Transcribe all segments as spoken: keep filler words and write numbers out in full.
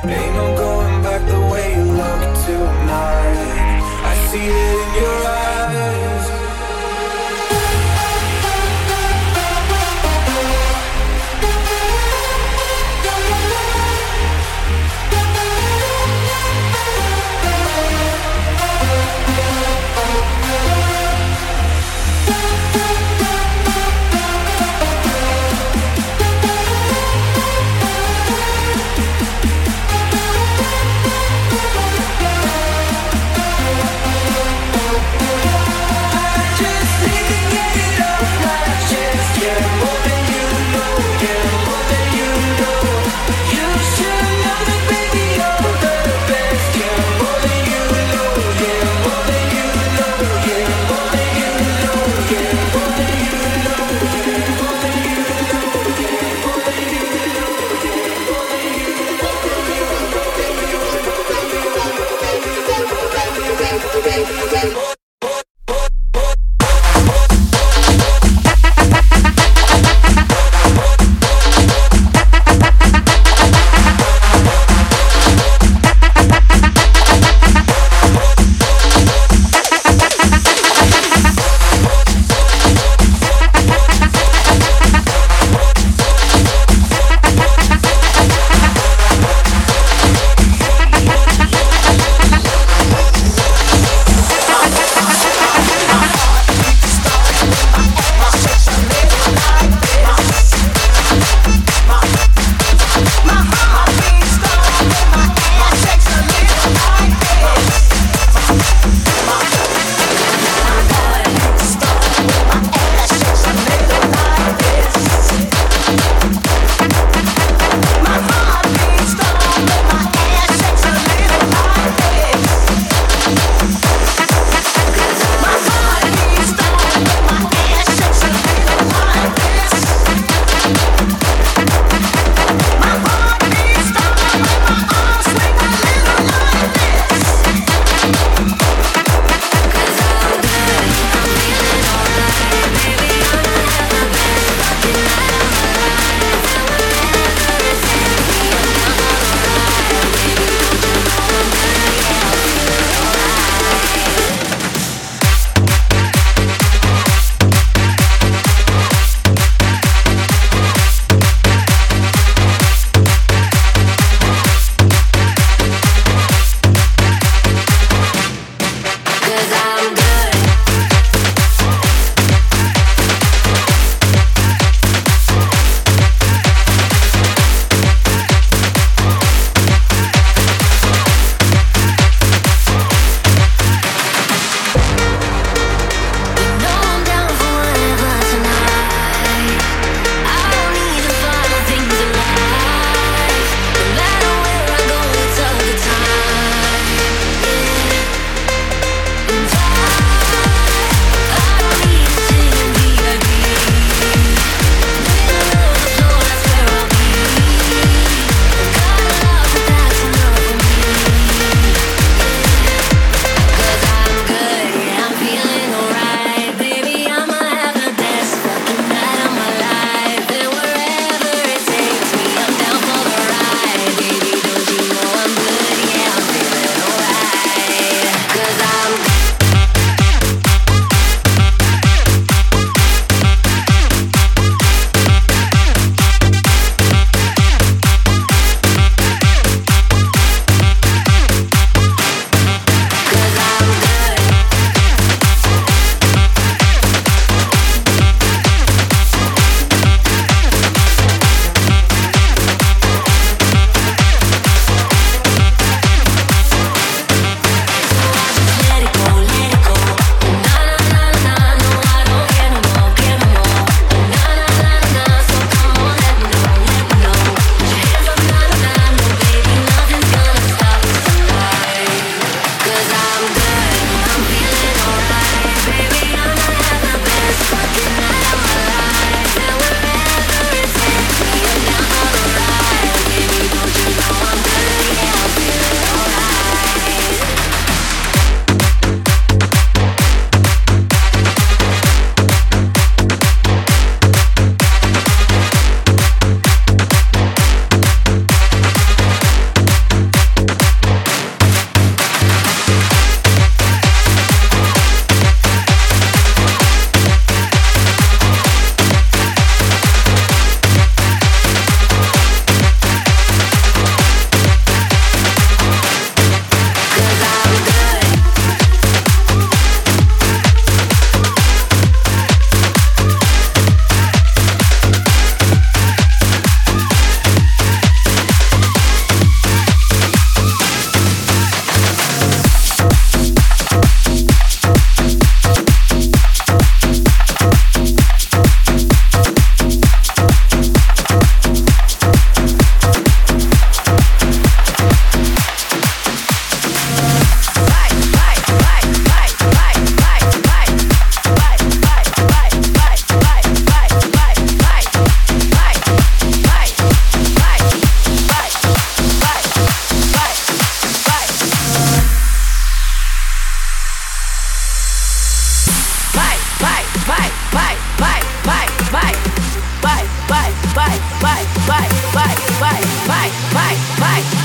Ain't no going back the way you look tonight. I see it in your eyes.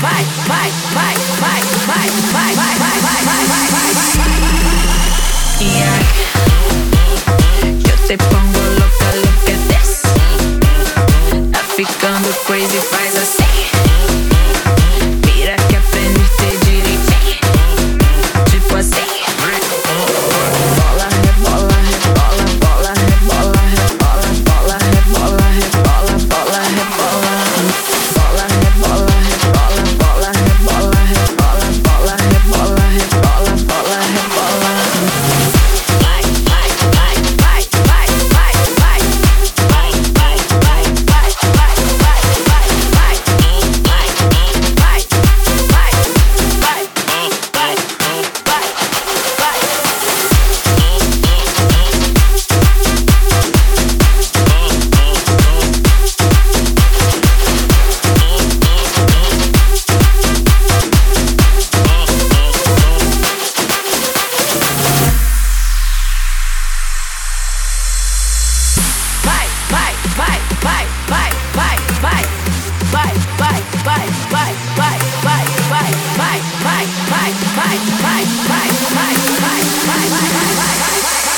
vai, vai, vai, vai, vai, vai, vai, vai, vai, vai, vai, vai. Yeah. Eu te pongo louca, look at this. Tá ficando crazy, faz assim. Mira que aprendiste direitinho. Tipo assim. Bola, rebola, rebola, bola, rebola, rebola, bola, rebola, rebola, bola, rebola. Bola, rebola, rebola, bola, rebola, rebola, bola, rebola, rebola, bola, rebola. Vai, vai, vai, vai, vai, vai, vai. Vai, vai, vai, vai, vai, vai, vai, vai. Vai, vai, vai, vai, vai, vai, vai. Vai, vai, vai, vai, vai, vai, vai. Vai, vai, vai, vai, vai, vai, vai, vai, vai, vai, vai, vai, vai, vai, vai, vai, vai, vai, vai.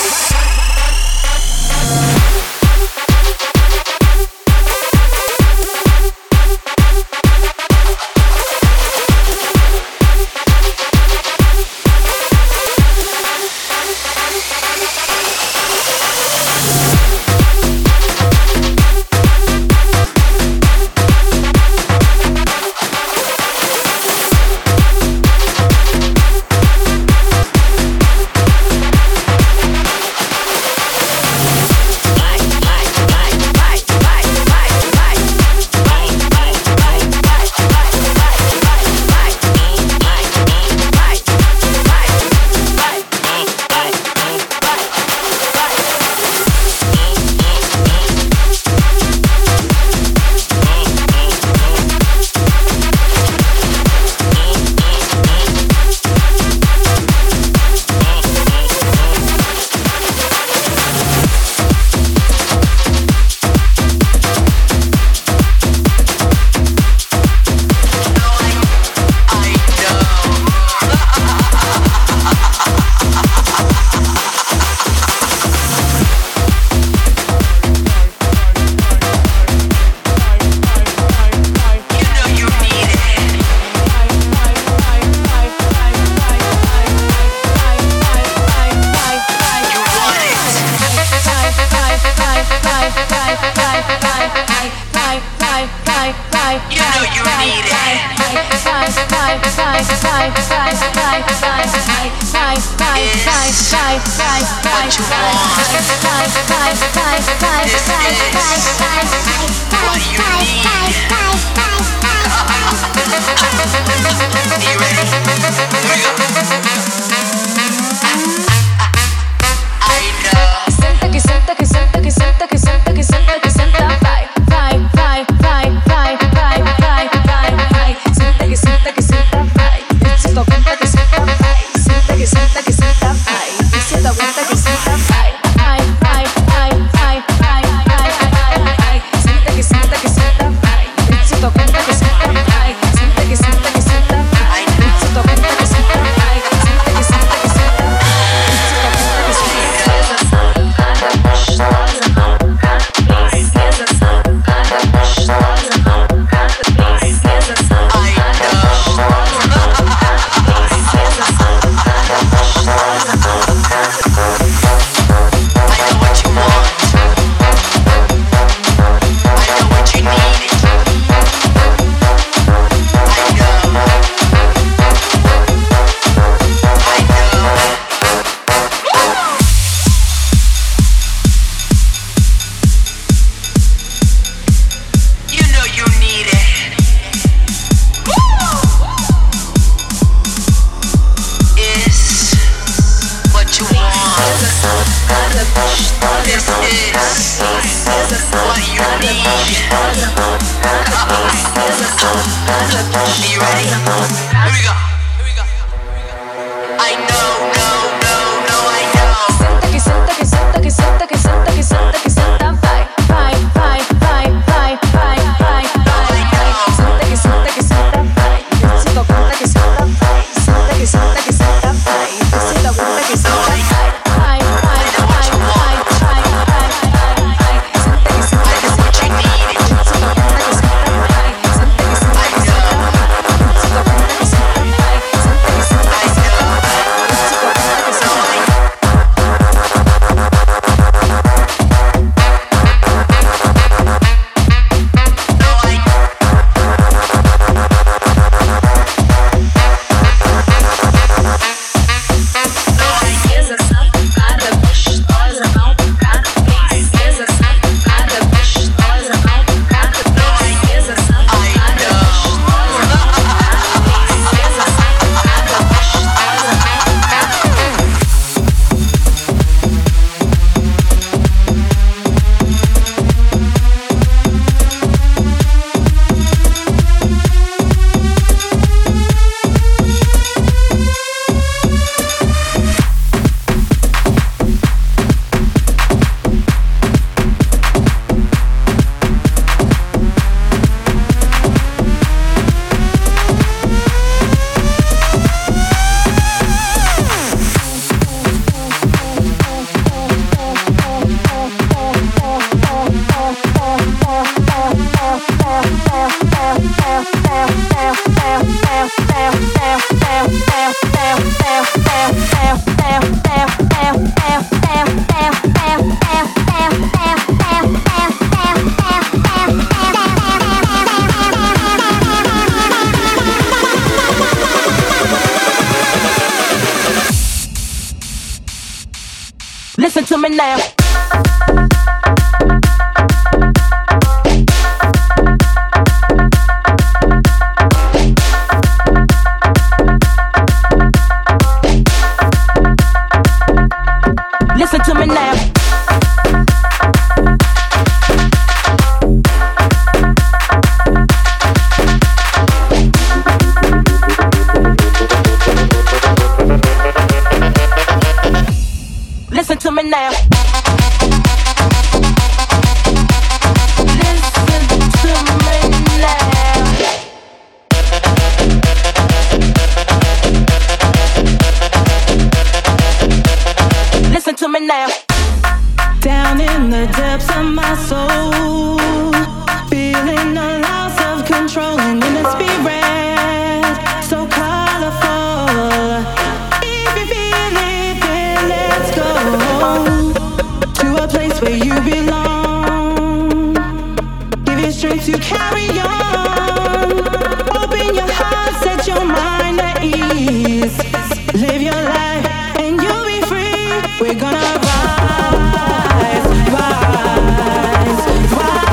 You ready? Here we go. Here we go. I know, no, no, no, I know. Senta que senta que senta que senta que senta que senta que senta, vai, vai, vai, vai, vai, vai, vai, vai, vai. Senta que senta que senta, vai. Listen to me now. Listen to me now. Listen to me now. Listen to me now. Listen to me now. Down in the depths of my soul, feeling a loss of control and in the spirit, so colorful. If you feel it, then let's go to a place where you belong. Give you strength to carry on. Open your heart, set your mind at ease. Live your life and you'll be free. We're gonna rise, rise, rise.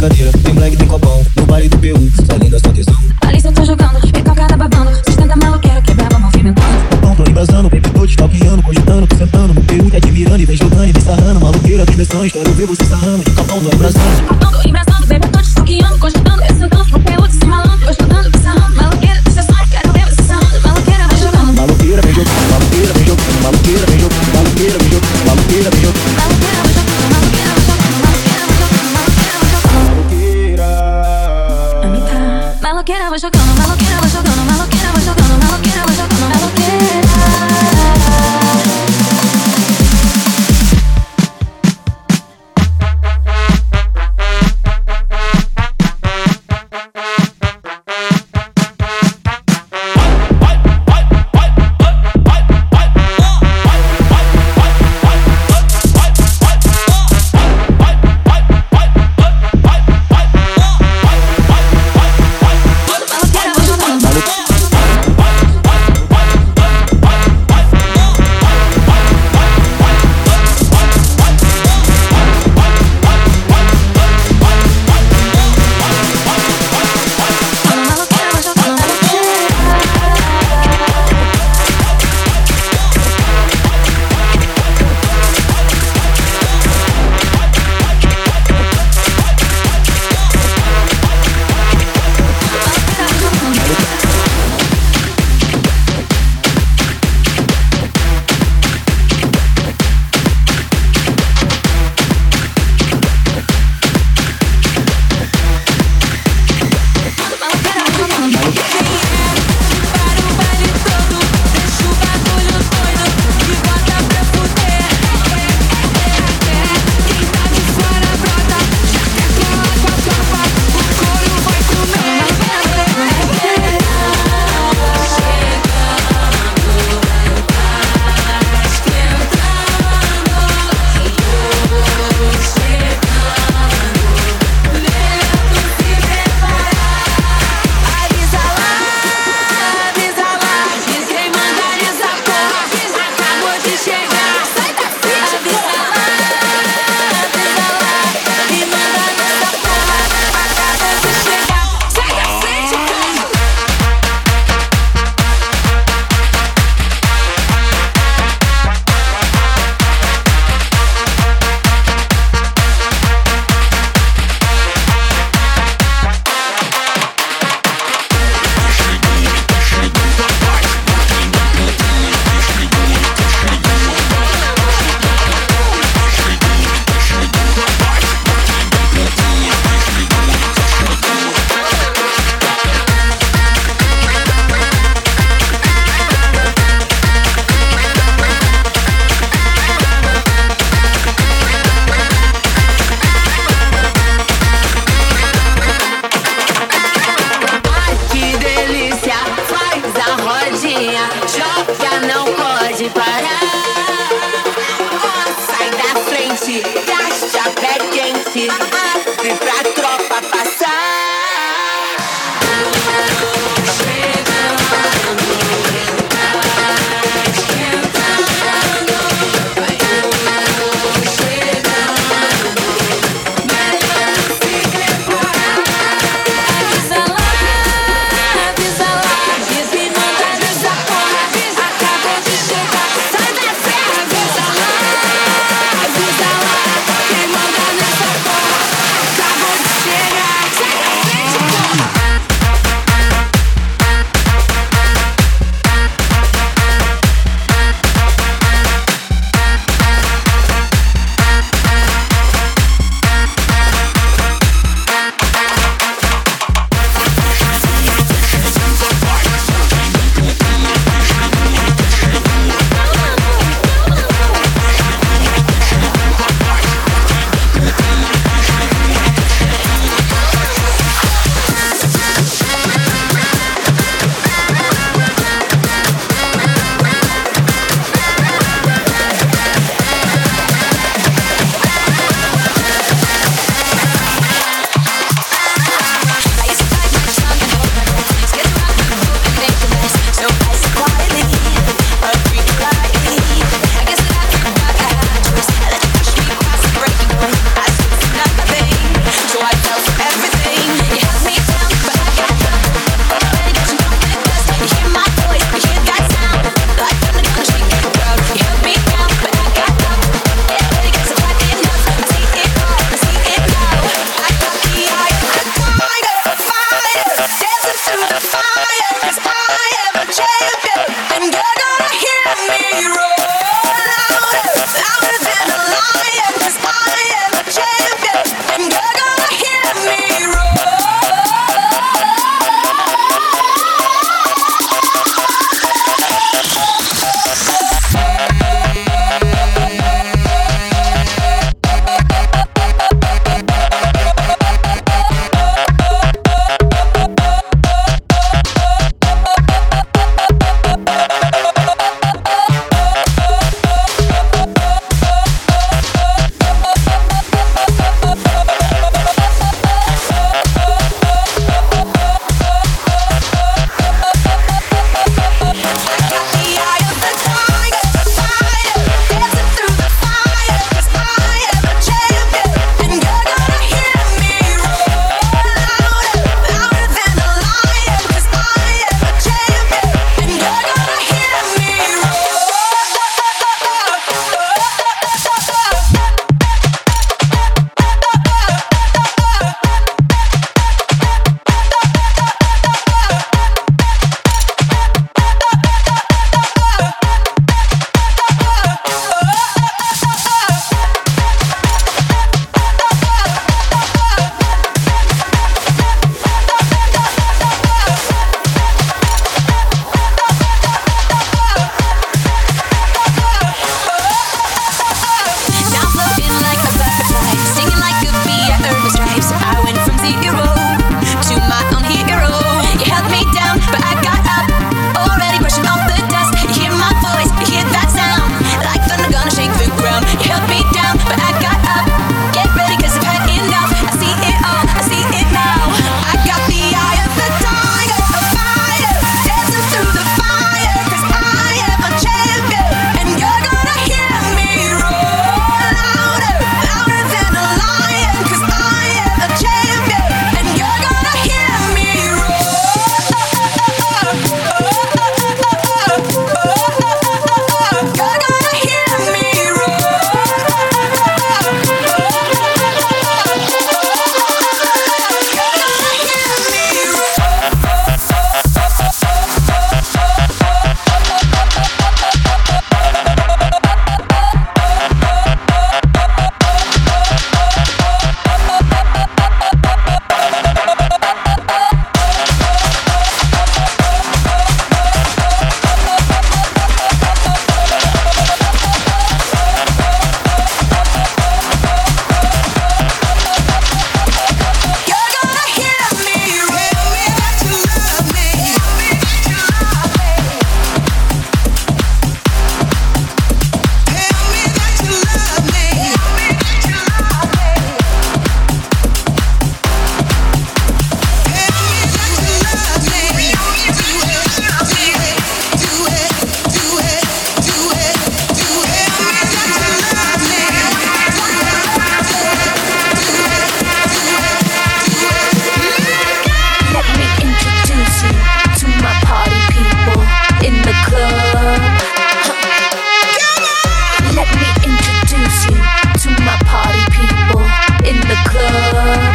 brincadeira. Tem black, tem copão, no baile do P um, só linda, só tesão. Ali cê tá jogando, e calcada babando. Sustenta maloqueira, que brava movimentando. Copão, tô embrasando, baby, tô te stalkeando, cogitando, tô sentando no P um, te admirando e vem jogando e vem sarrando. Maloqueira, tem versões, quero ver você sarrando. De copão, tô embrasando. Copão, tô embrasando, baby, tô te stalkeando, cogitando e sentando no P um, de cima malandro. Vou jogando, vem sarrando. Maloqueira, tem versões, quero ver você sarrando. Maloqueira, vem jogando. Maloqueira, vem jogando, maloqueira, vem jogando, maloqueira, vem jogando, maloqueira, vem jogando, maloqueira, vem jogando. Maloqueira, vem jogando, maloqueira, vem jogando, maloqueira, vem jogando, maloqueira, vem jogando. Maloqueira. Maloqueira, vai jogando, maloqueira, vai jogando, maloqueira, vai jogando, maloqueira, vai jogando, maloqueira. Acabou de life, so I went from zero to my own hero. You held me down, but I got up, already brushing off the dust. You hear my voice, you hear that sound, like thunder gonna shake the ground. You held me down, but I got up. Get ready, cause I've had enough. I see it all, I see it now. I got the eye of the tiger, a fighter, dancing through the fire, cause I am a champion, and you're gonna hear me roar louder, louder than a lion, cause I am a champion, and you're gonna hear me roar. You're gonna hear me roar. Let me introduce you to my party people in the club. Let me introduce you to my party people in the club.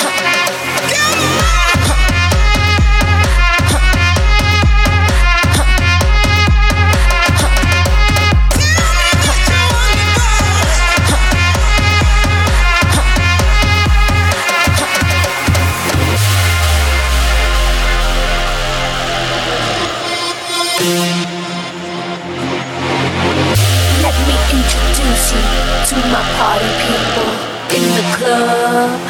Let me introduce you to my party people in the club.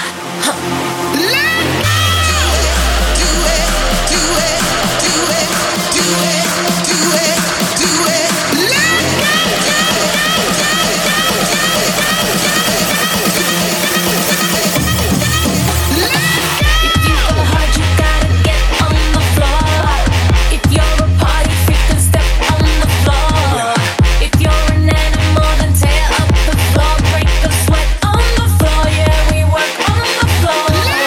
If you go hard, you gotta get on the floor. If you're a party freak, then step on the floor. If you're an animal, then tear up the floor. Break the sweat on the floor. Yeah, we work on the floor.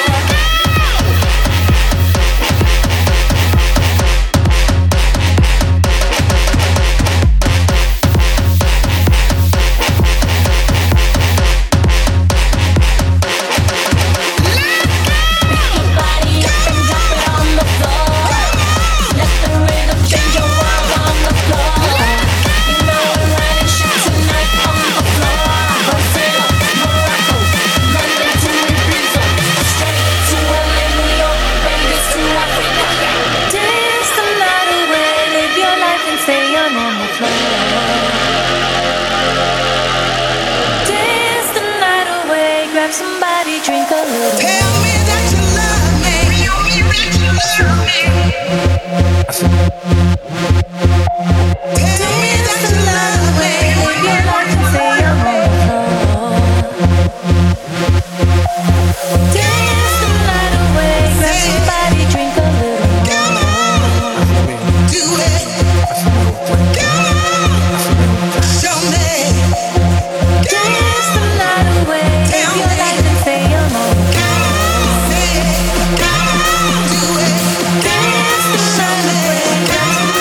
Pick your body up and drop it on the floor. Let the rhythm change your world on the floor. You know we're running shit tonight on the floor. Brazil, Morocco, London to Ibiza, Australia to L A, New York, Vegas to Africa. Dance the night away, live your life and stay on on the floor. Dance the night away, grab somebody, drink a little. Tell me that you love me. Tell me that you love me. Tell me that you love me. Live your life and stay on the floor. Dance the night away, grab somebody, drink a little more. Do it. Show me. Dance the night away, live your life and stay on the floor. Do it. Dance the night away, grab somebody.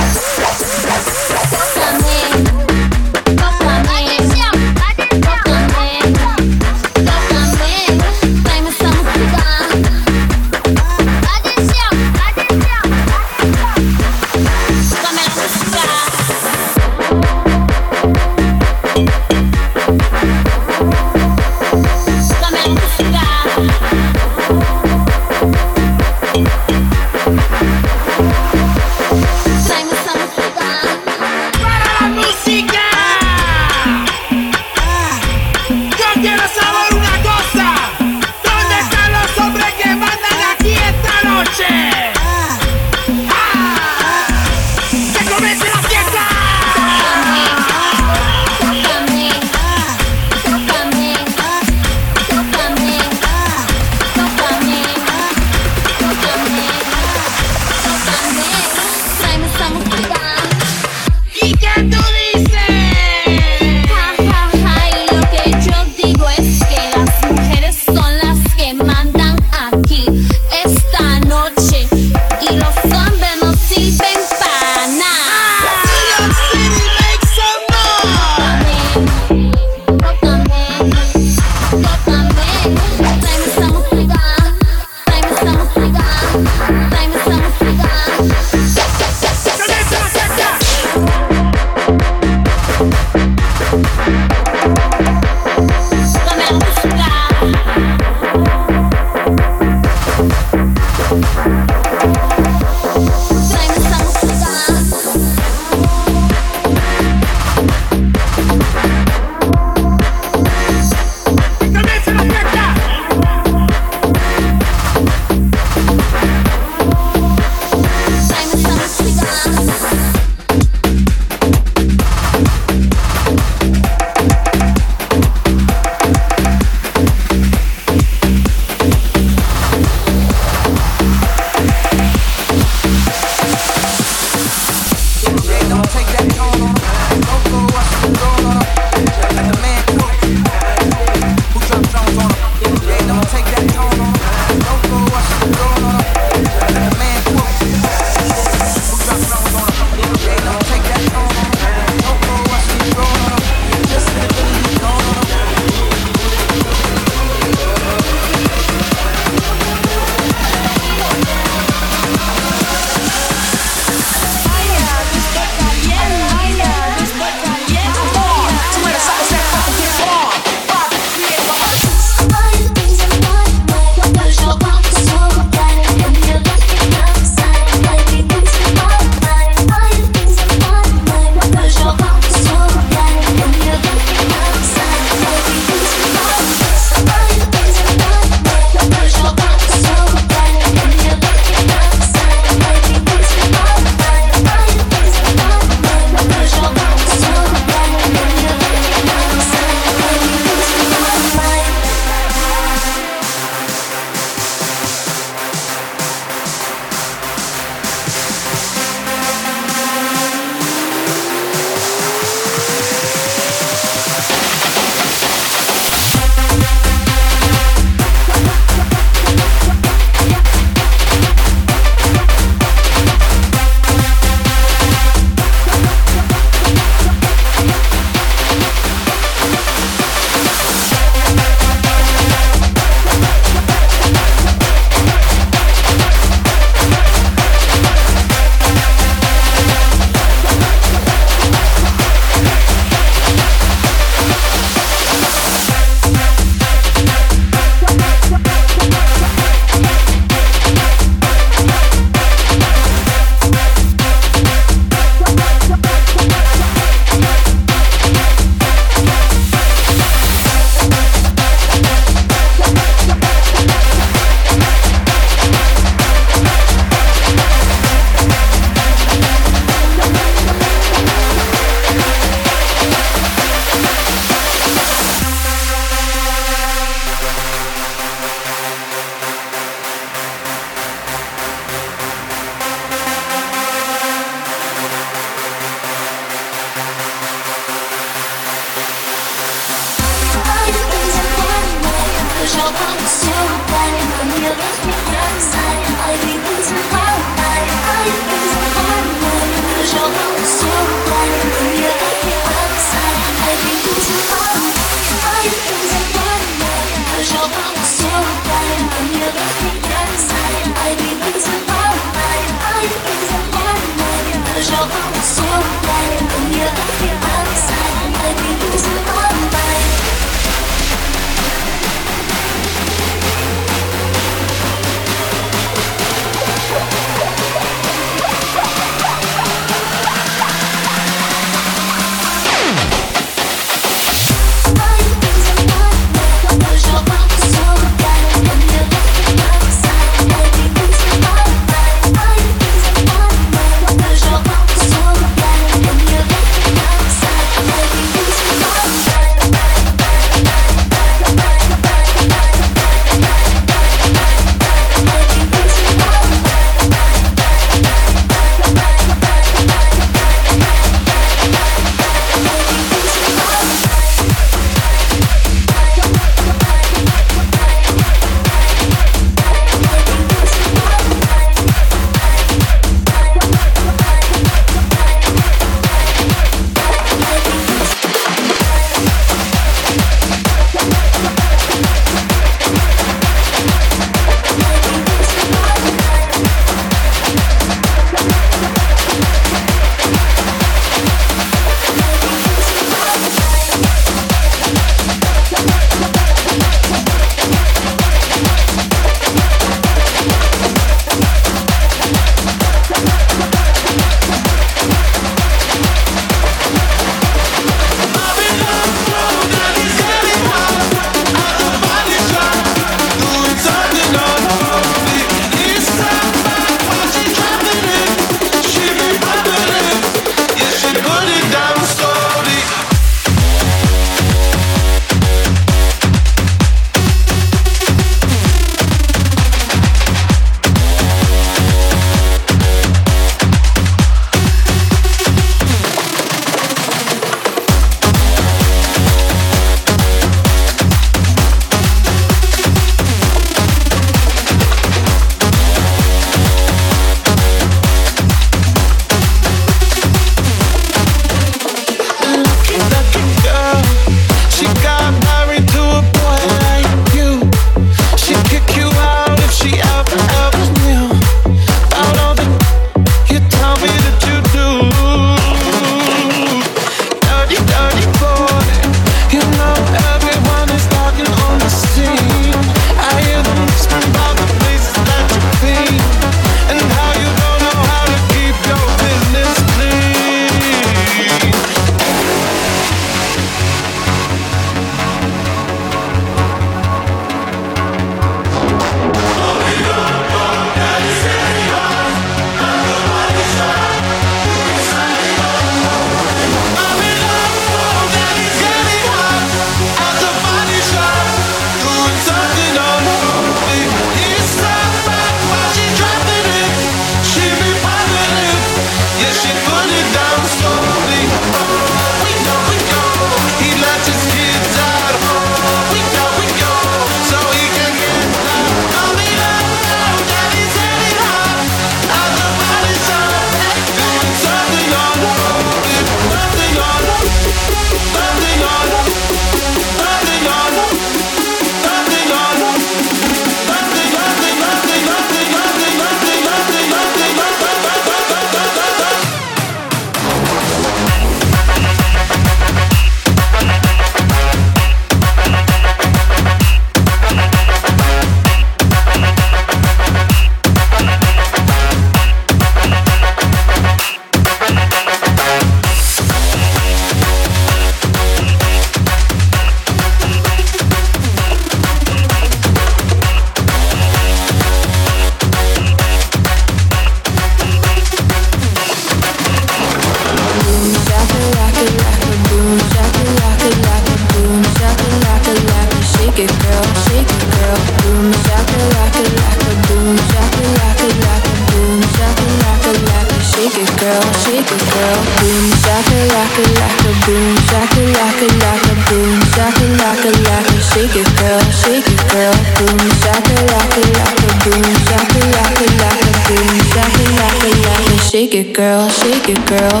shake it, girl. Boom, shaka, laka, laka, boom, shaka, laka, laka, boom, shaka, laka, laka, shake it, girl, shake it, girl. Boom, shaka, laka, laka, boom, shaka, laka, laka, boom, shaka, laka, laka, shake it, girl, shake it, girl.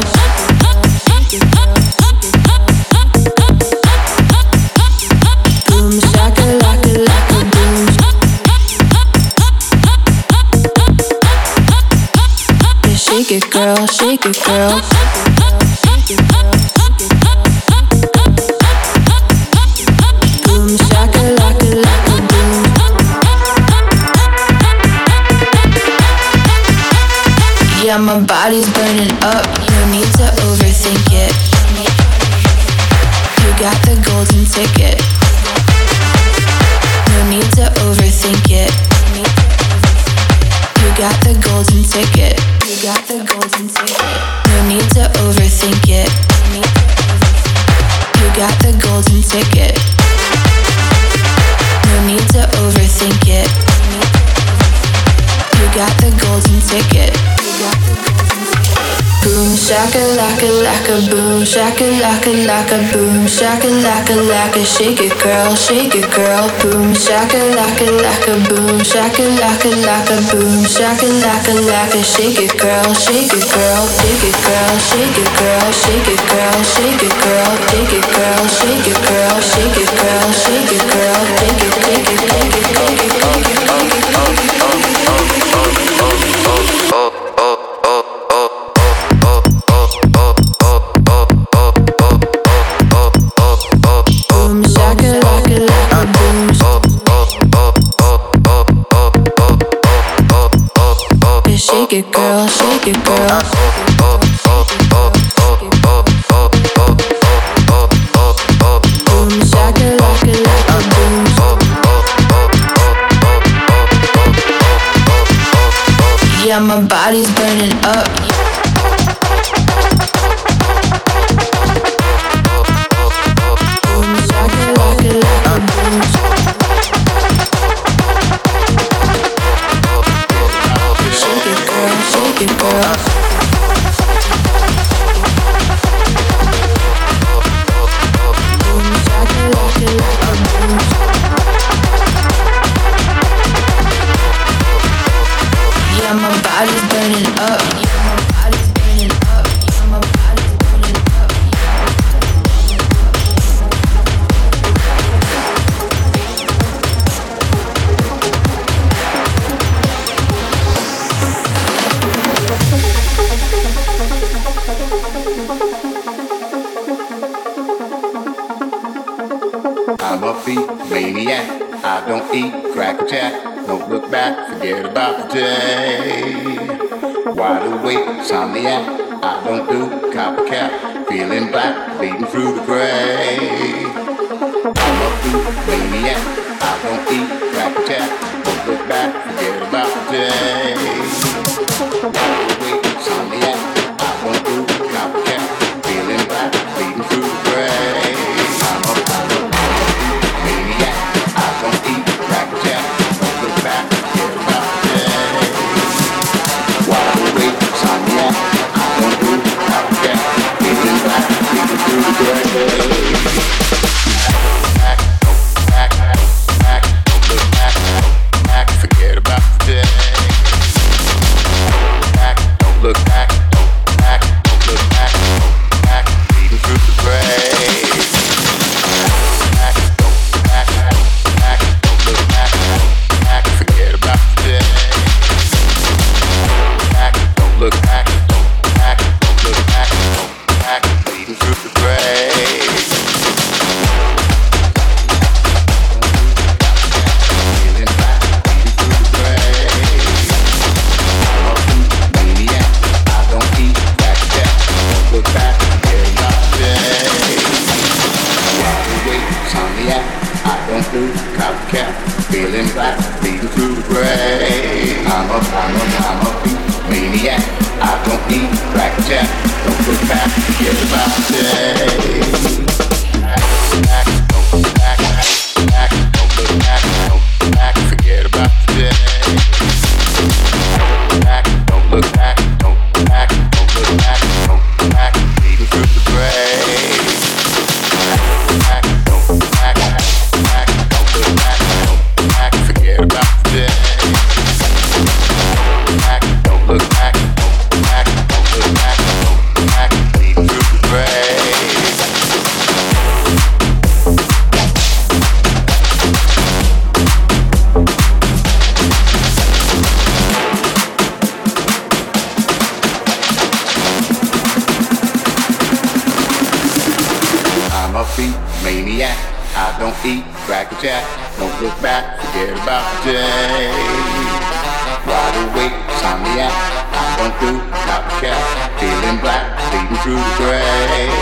Boom, shaka, laka, laka, boom. Shake it, girl, shake it, girl. Boom, shaka, laka, laka, boom. Yeah, my body's burning up. No need to overthink it. You got the golden ticket. No need to overthink it. You got the golden ticket. You got the golden ticket. No need to overthink it. You got the golden ticket. No need to overthink it. You got the golden ticket. You got the golden ticket. Boom, shaka, laka, laka, boom, shaka, laka, laka, boom, shaka, laka, laka, shake it, girl, shake it, girl. Boom, shaka, laka, laka, boom, shaka, laka, laka, boom, shaka, laka, laka, shake it, girl, shake it, girl, shake it, girl, shake it, girl, shake it, girl, shake it, girl, shake it, girl, shake it, girl, shake it, girl, shake it, girl, shake it, shake it, shake it, shake it, shake it, shake it. Shake it, girl, shake it, girl. Boom, shaka, laka, laka, boom. Yeah, my body's burning up. Boom, shaka, laka, laka, boom. Shake it, girl, shake it, girl. Boom, shaka, laka, laka, boom. Yeah, my body's burning up. Yeah, my body's burning up. Yeah, my body's burning up. I'm a beat maniac. I don't eat crack a jack. Don't look back, forget about the day. Wide awake, insomniac. I don't do copycat. Feeling black, bleeding through the gray. I'm a beat maniac. I don't eat crack a jack. Don't look back, forget about the day. Wide awake, insomniac. I don't do copycat. Feeling black, bleeding through the gray. I'm a, I'm a maniac. I don't eat crack a jack. Don't look back, forget about the day. Wide awake, insomniac. I don't do copycat. Feeling black, bleeding through the gray. Back, back, back, don't look back, back, forget about the day. Back, don't look back, don't back, don't look back, don't back, bleeding through the gray. Back, don't back, back, don't look back, back, forget about the day. Back, don't look back, don't back, don't look back, don't back, bleeding through the gray. Feeling black, bleeding through the gray. I'm a maniac. I don't eat crack jack. Don't look back, forget about the day. Wide awake, insomniac. I don't do copycat. Feeling black, bleeding through the gray. I'm a, I'm a, I'm a beat maniac. I don't eat crack jack. Don't look back, forget about the day. Back, don't back, back, don't look back, don't back, forget about the day. Back, don't look back, don't back, don't look back, don't muffy maniac. I don't eat crack or jack. Don't look back, forget about the day. Wide awake, insomniac. I don't do copycat. Feeling black, bleeding through the gray.